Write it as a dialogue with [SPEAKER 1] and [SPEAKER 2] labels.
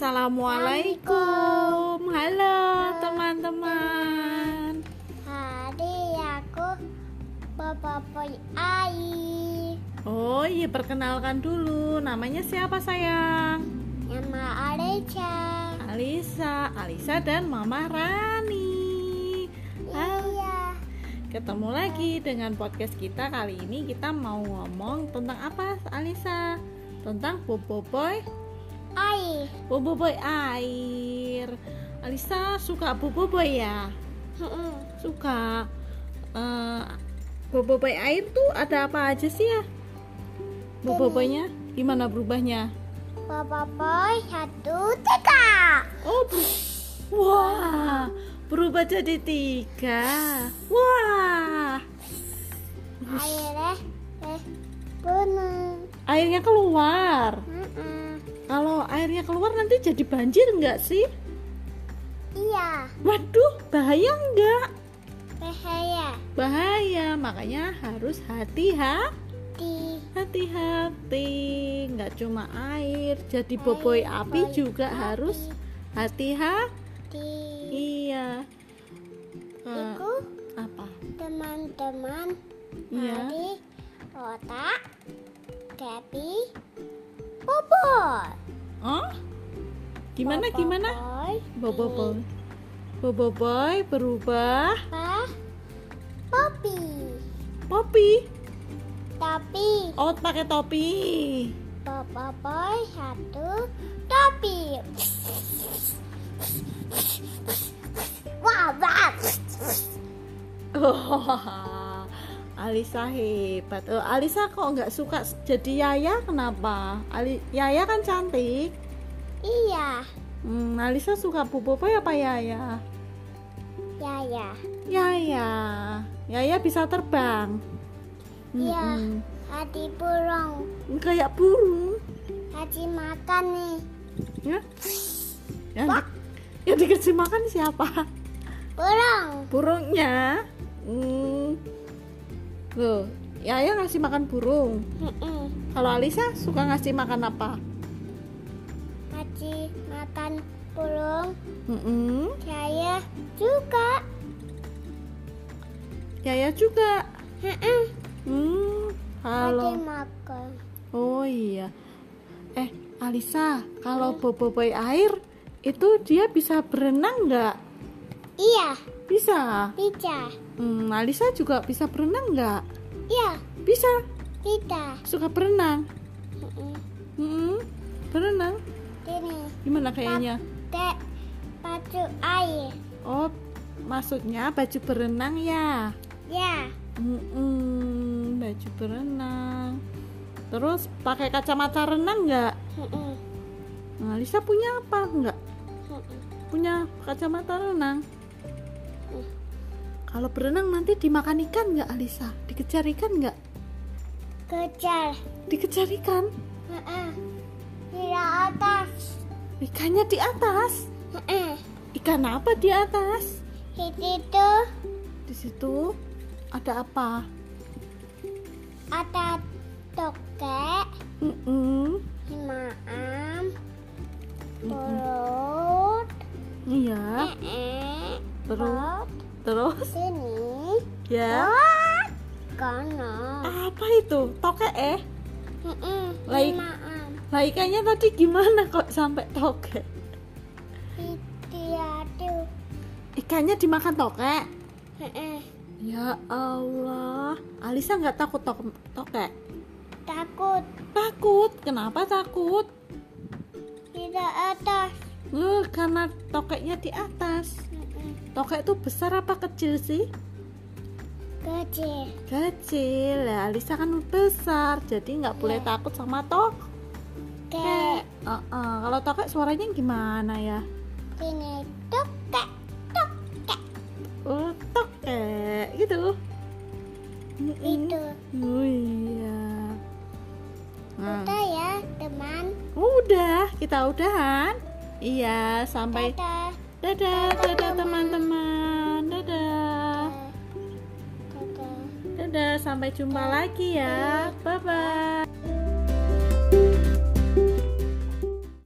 [SPEAKER 1] Assalamualaikum. Halo teman-teman.
[SPEAKER 2] Hari aku Boboiboy air.
[SPEAKER 1] Oh iya, perkenalkan dulu. Namanya siapa sayang?
[SPEAKER 2] Nama
[SPEAKER 1] Alisa dan Mama Rani.
[SPEAKER 2] Iya.
[SPEAKER 1] Ketemu lagi dengan podcast kita. Kali ini kita mau ngomong tentang apa, Alisa? Tentang Boboiboy
[SPEAKER 2] Air.
[SPEAKER 1] Boboiboy air. Alisa suka Boboiboy ya? Suka. Boboiboy air tuh ada apa aja sih ya? Boboiboynya gimana berubahnya?
[SPEAKER 2] Boboiboy 1, 3.
[SPEAKER 1] Oh, wah, berubah jadi 3. Wah,
[SPEAKER 2] Airnya bener.
[SPEAKER 1] airnya keluar. Kalau airnya keluar nanti jadi banjir nggak sih?
[SPEAKER 2] Iya.
[SPEAKER 1] Waduh, bahaya nggak?
[SPEAKER 2] Bahaya.
[SPEAKER 1] Bahaya, makanya harus hati-hati. Nggak cuma air, jadi boboi api juga harus hati-hati. Iya.
[SPEAKER 2] Itu
[SPEAKER 1] Apa?
[SPEAKER 2] teman-teman
[SPEAKER 1] Iya.
[SPEAKER 2] dari otak Gabi Boboiboy.
[SPEAKER 1] Oh? Gimana? Boboiboy berubah. Poppy.
[SPEAKER 2] Tapi
[SPEAKER 1] Oh, pakai topi.
[SPEAKER 2] Boboiboy 1 topi. Wah.
[SPEAKER 1] Oh, Alisa hebat. Alisa kok nggak suka jadi Yaya? Kenapa? Yaya kan cantik.
[SPEAKER 2] Iya.
[SPEAKER 1] Alisa suka Boboiboy apa Yaya?
[SPEAKER 2] Yaya.
[SPEAKER 1] Yaya bisa terbang.
[SPEAKER 2] Iya. Hati burung.
[SPEAKER 1] Kayak burung.
[SPEAKER 2] Hati makan nih.
[SPEAKER 1] Ya? Yang dikasih makan siapa?
[SPEAKER 2] Burung.
[SPEAKER 1] Burungnya. Loh, Yaya ngasih makan burung. Kalau Alisa suka ngasih makan apa?
[SPEAKER 2] Hati makan burung. Saya juga.
[SPEAKER 1] Kalau
[SPEAKER 2] Hati makan.
[SPEAKER 1] oh iya. Alisa, kalau Boboiboy air itu dia bisa berenang nggak?
[SPEAKER 2] Iya.
[SPEAKER 1] Bisa. Alisa juga bisa berenang nggak?
[SPEAKER 2] Iya.
[SPEAKER 1] Bisa.
[SPEAKER 2] Tidak.
[SPEAKER 1] Suka berenang. Berenang.
[SPEAKER 2] Ini.
[SPEAKER 1] Gimana kayaknya?
[SPEAKER 2] Pakai baju air.
[SPEAKER 1] Oh, maksudnya baju berenang ya?
[SPEAKER 2] Ya.
[SPEAKER 1] Baju berenang. Terus pakai kacamata renang nggak? Alisa punya apa nggak? Punya kacamata renang. Kalau berenang nanti dimakan ikan nggak, Alisa? Dikejar ikan nggak?
[SPEAKER 2] Kejar.
[SPEAKER 1] Dikejar ikan?
[SPEAKER 2] Di atas.
[SPEAKER 1] Ikannya di atas? Ikan apa di atas?
[SPEAKER 2] Itu
[SPEAKER 1] Di situ ada apa?
[SPEAKER 2] ada tokek, maam, perut,
[SPEAKER 1] Iya. Terus?
[SPEAKER 2] sini,
[SPEAKER 1] Ya.
[SPEAKER 2] kanan,
[SPEAKER 1] Apa itu? Tokek Like-
[SPEAKER 2] maam,
[SPEAKER 1] Lah ikannya tadi gimana kok sampai tokek?
[SPEAKER 2] aduh,
[SPEAKER 1] Ikannya dimakan tokek? Ya Allah, Alisa nggak takut tokek?
[SPEAKER 2] takut,
[SPEAKER 1] Takut? Kenapa takut?
[SPEAKER 2] tidak atas,
[SPEAKER 1] Karena tokeknya di atas. Tokek itu besar apa kecil sih?
[SPEAKER 2] kecil,
[SPEAKER 1] Kecil. Lah Alisa kan besar, jadi nggak boleh takut sama tokek. Kalau tokek suaranya gimana ya?
[SPEAKER 2] sini, tokek,
[SPEAKER 1] Oh, tokek gitu.
[SPEAKER 2] itu,
[SPEAKER 1] Oh iya.
[SPEAKER 2] udah ya teman,
[SPEAKER 1] Udah, kita udahan. Iya, sampai
[SPEAKER 2] dadah.
[SPEAKER 1] dadah teman-teman. Dadah, sampai jumpa lagi ya.